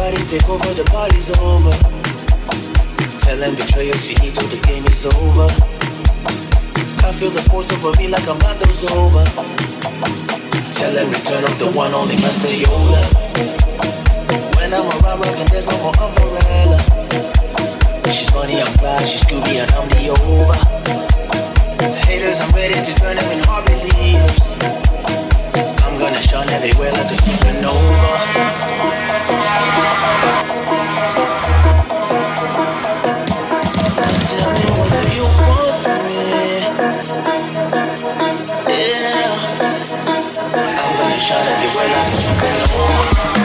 Everybody take over, the party's over. Tell them betrayers, finito, the game is over. I feel the force over me like a Mondo's over. Tell them return of the one, only Master Yoda. When I'm around rockin', there's no more umbrella. She's funny, I'm Clyde, she's Scooby, and I'm the over. Haters, I'm ready to turn them in hard believers. I'm gonna shine everywhere like a supernova. Now tell me, what do you want from me? Yeah, I'm gonna shine everywhere like a supernova.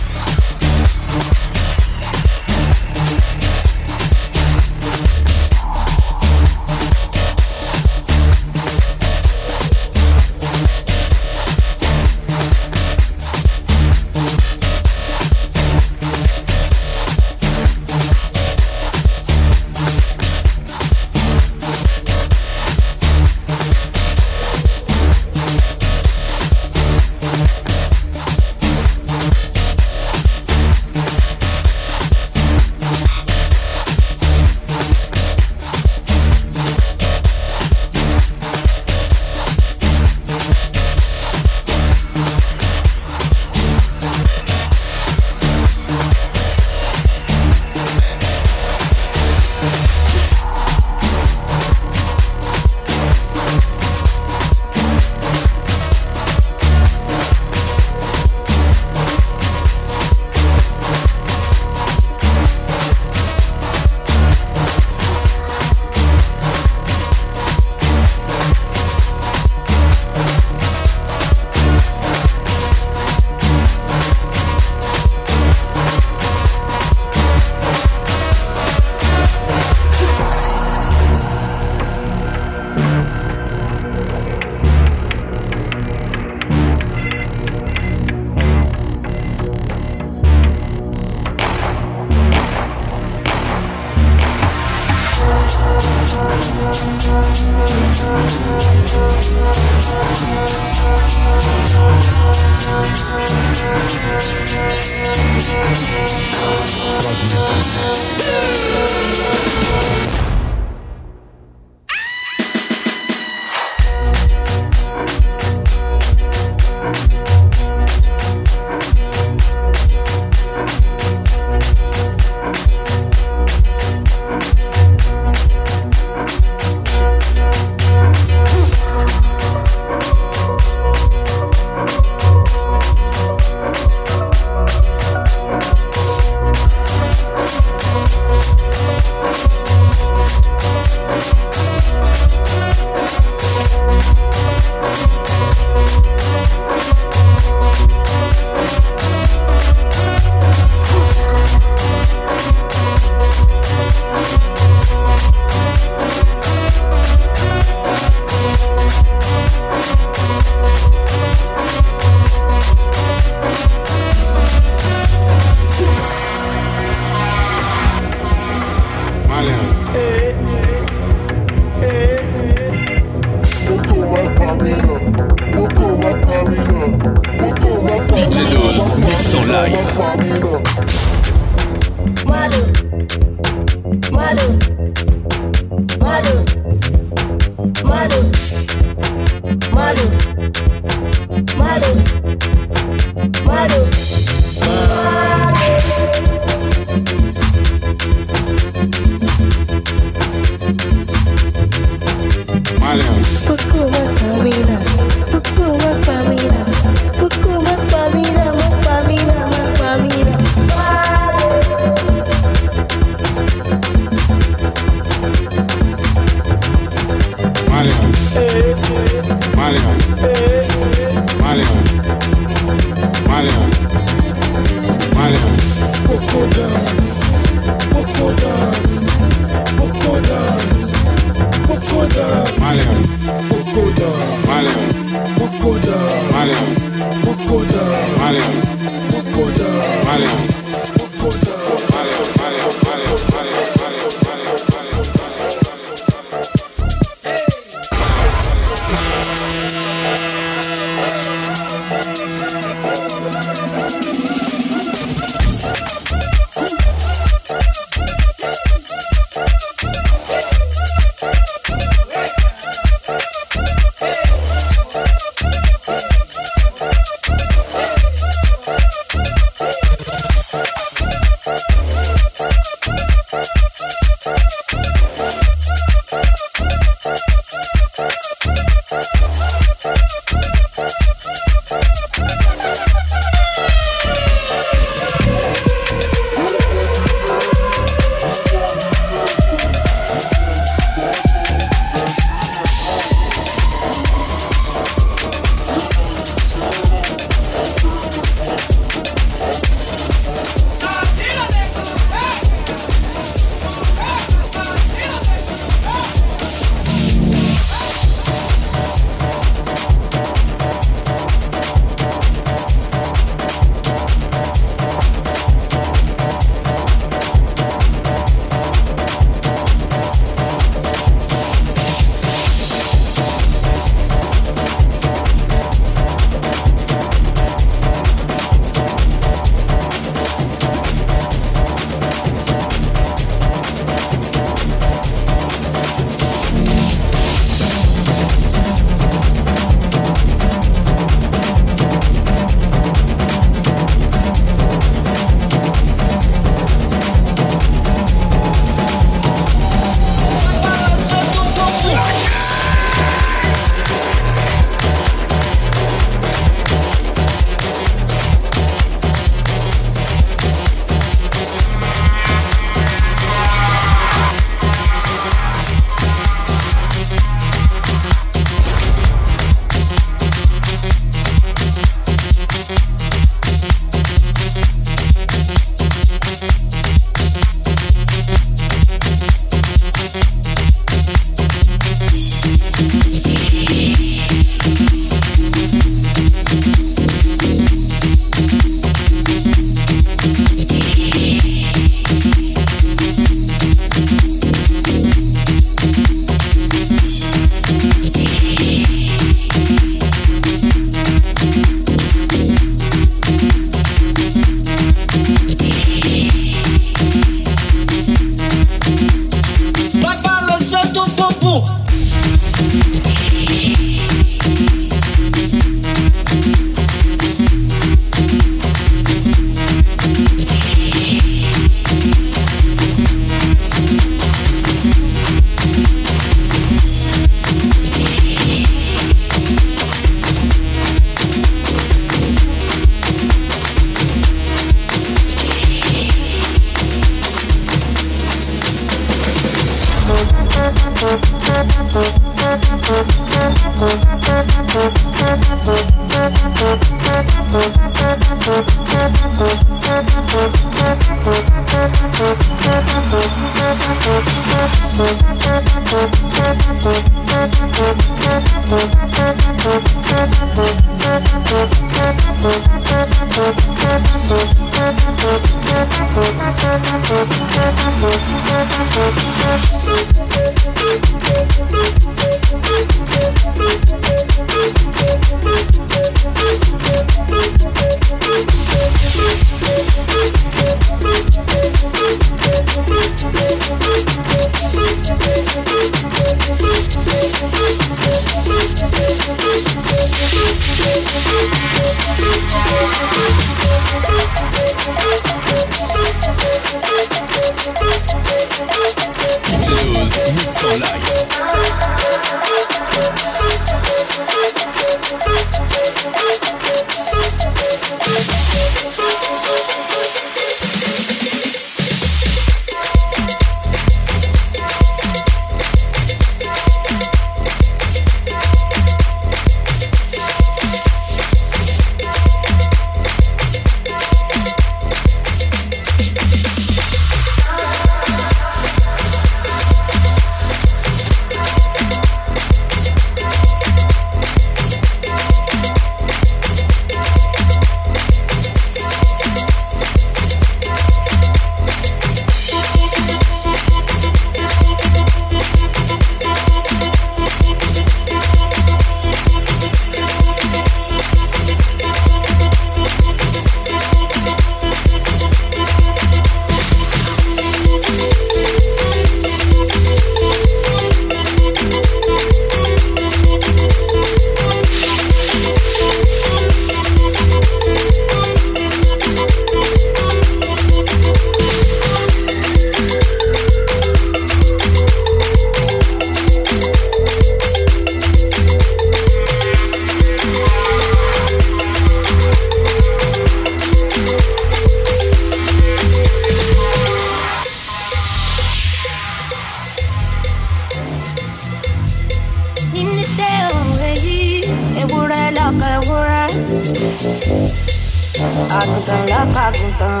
Àgùntàn lọ́kọ̀ àgùntàn.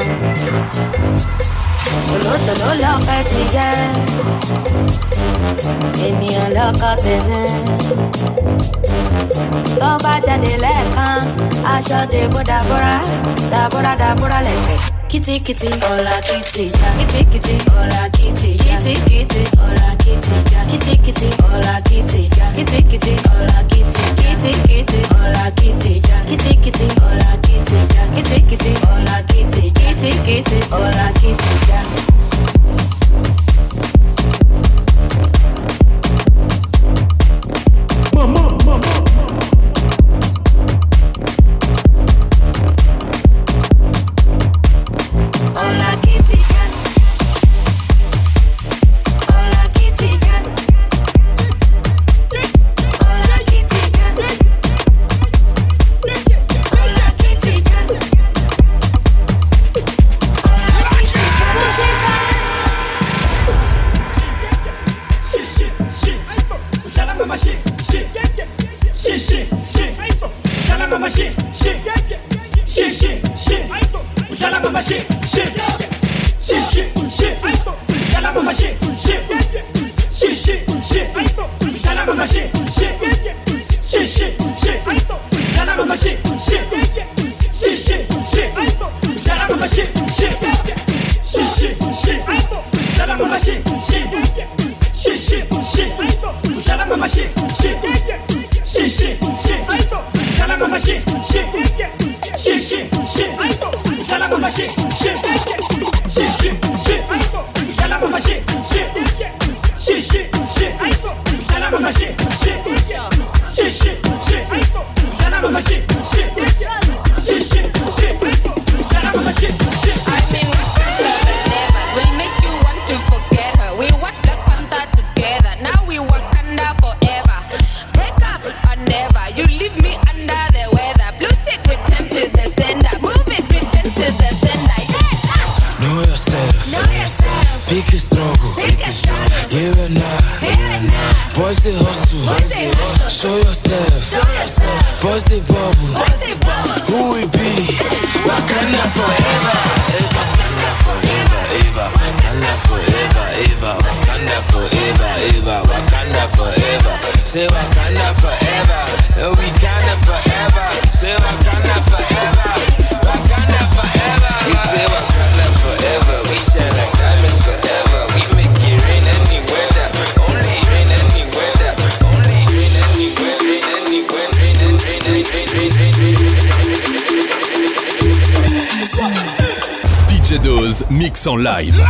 Tòlótòló lọ́kọ̀ ti yẹ. Ènìyàn lọ́kọ̀ tèmi. Tó bá jáde lẹ́ẹ̀kan, aṣọ dèbò dàbúrà, dàbúrà dàbúrà lẹ̀kẹ̀. Kitty kitty, hola kitty, kitty kitty, hola kitty, kitty kitty, hola kitty, kitty kitty, hola kitty, kitty kitty, hola kitty, kitty kitty, hola kitty, kitty kitty, hola kitty, kitty kitty, hola kitty, kitty kitty, hola kitty. DJ Dose mix en live.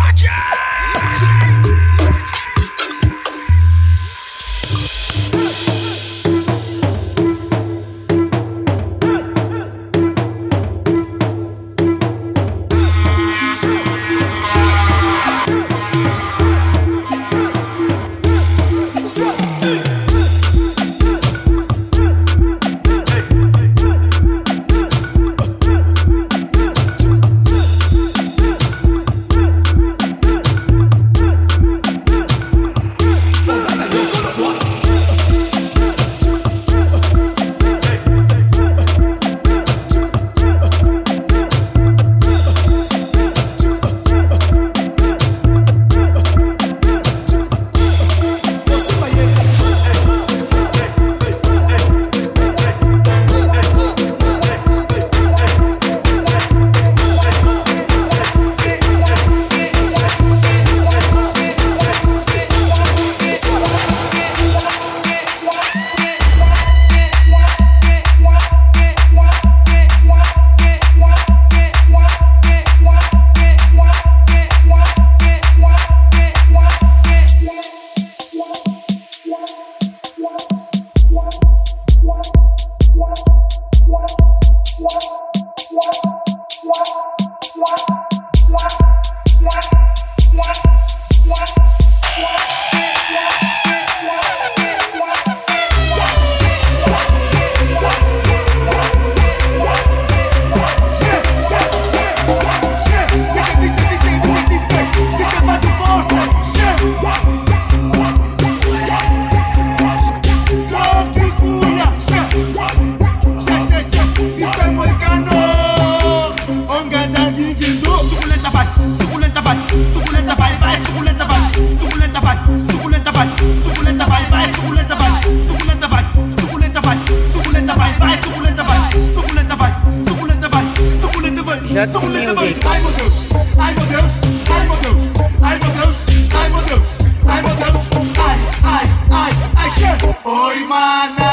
Sexy music. Ai meu Deus, ai meu Deus, ai meu Deus, ai meu Deus, ai meu Deus, ai meu Deus, ai, che. Oi mana,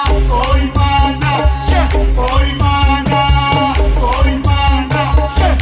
che. Oi mana, che.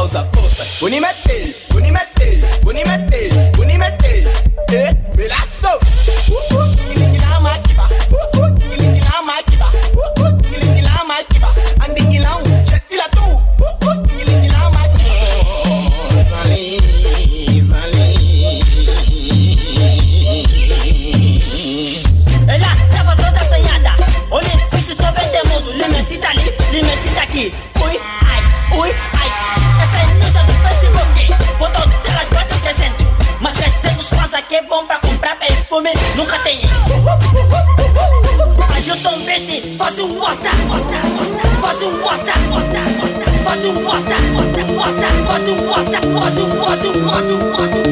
pausa, força. Unimete, unimete, unimete, unimete. Melaço. Ningilingila makiba. Ningilingila makiba. Ningilingila makiba. Andingilão, chetila tu. Ningilingila makiba. Zali, zali. Ela tava toda assanhada. Olha, se souber temoso, limentita ali, limentita aqui. Ui, ai. Essa é linda do Facebook. Foto delas bate crescendo. Mas 300 quase que é bom pra comprar perfume. Nunca tem. Aí eu sou um beat, faço um WhatsApp. Faço um WhatsApp. Faço um WhatsApp. Faço um WhatsApp.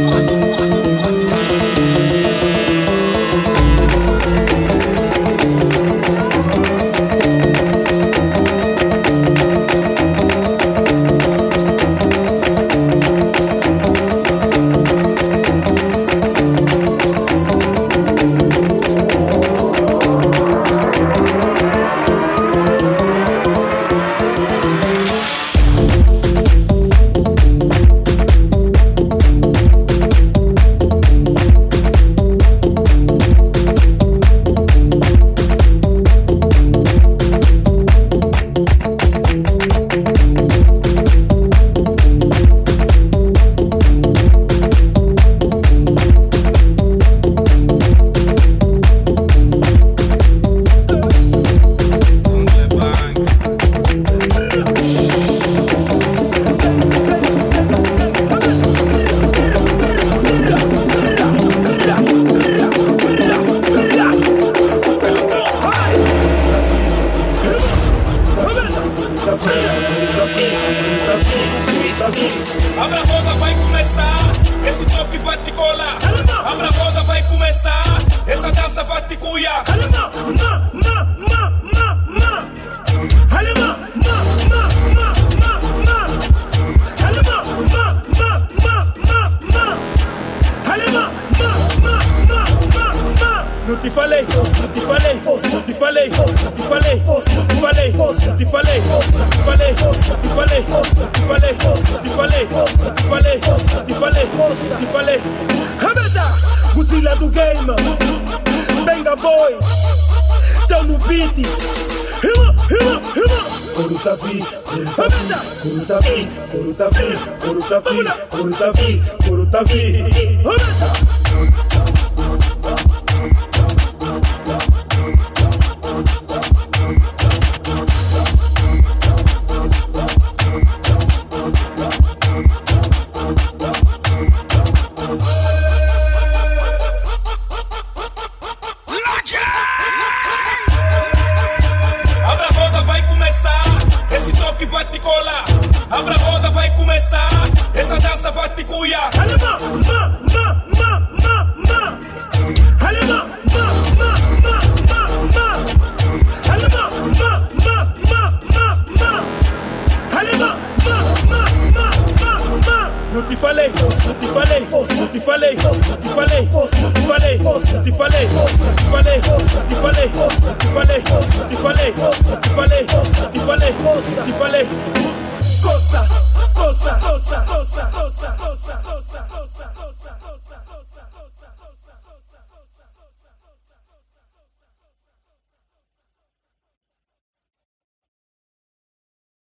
Abra a roda, vai começar. Esse toque vai te colar. Abra a roda, vai começar. Essa dança vai te cuiar. Não te falei, não te falei, não te falei, não te falei, não te falei, não te falei, não te falei, não te falei, não te falei, não te falei, não te falei, não te falei, não te falei. Rameda, Godzilla do game, Benga Boy, tão no beat. Hima. Corutavi, Rameda, Corutavi, Rameda. Abra a roda, vai começar. Esse toque vai te colar. Abra a roda, vai começar. Essa dança vai te cuiar. Não te falei, não te falei, não te falei, não te falei, não te falei, não te falei, não te falei, não te falei, não te falei, não te falei, não te falei, não te falei, não te falei. Coça.